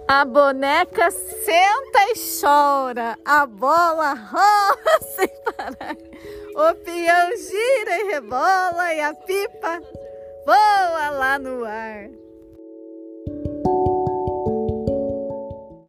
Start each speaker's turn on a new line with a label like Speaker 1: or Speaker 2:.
Speaker 1: A boneca senta e chora, a bola rola sem parar. O peão gira e rebola e a pipa voa lá no ar.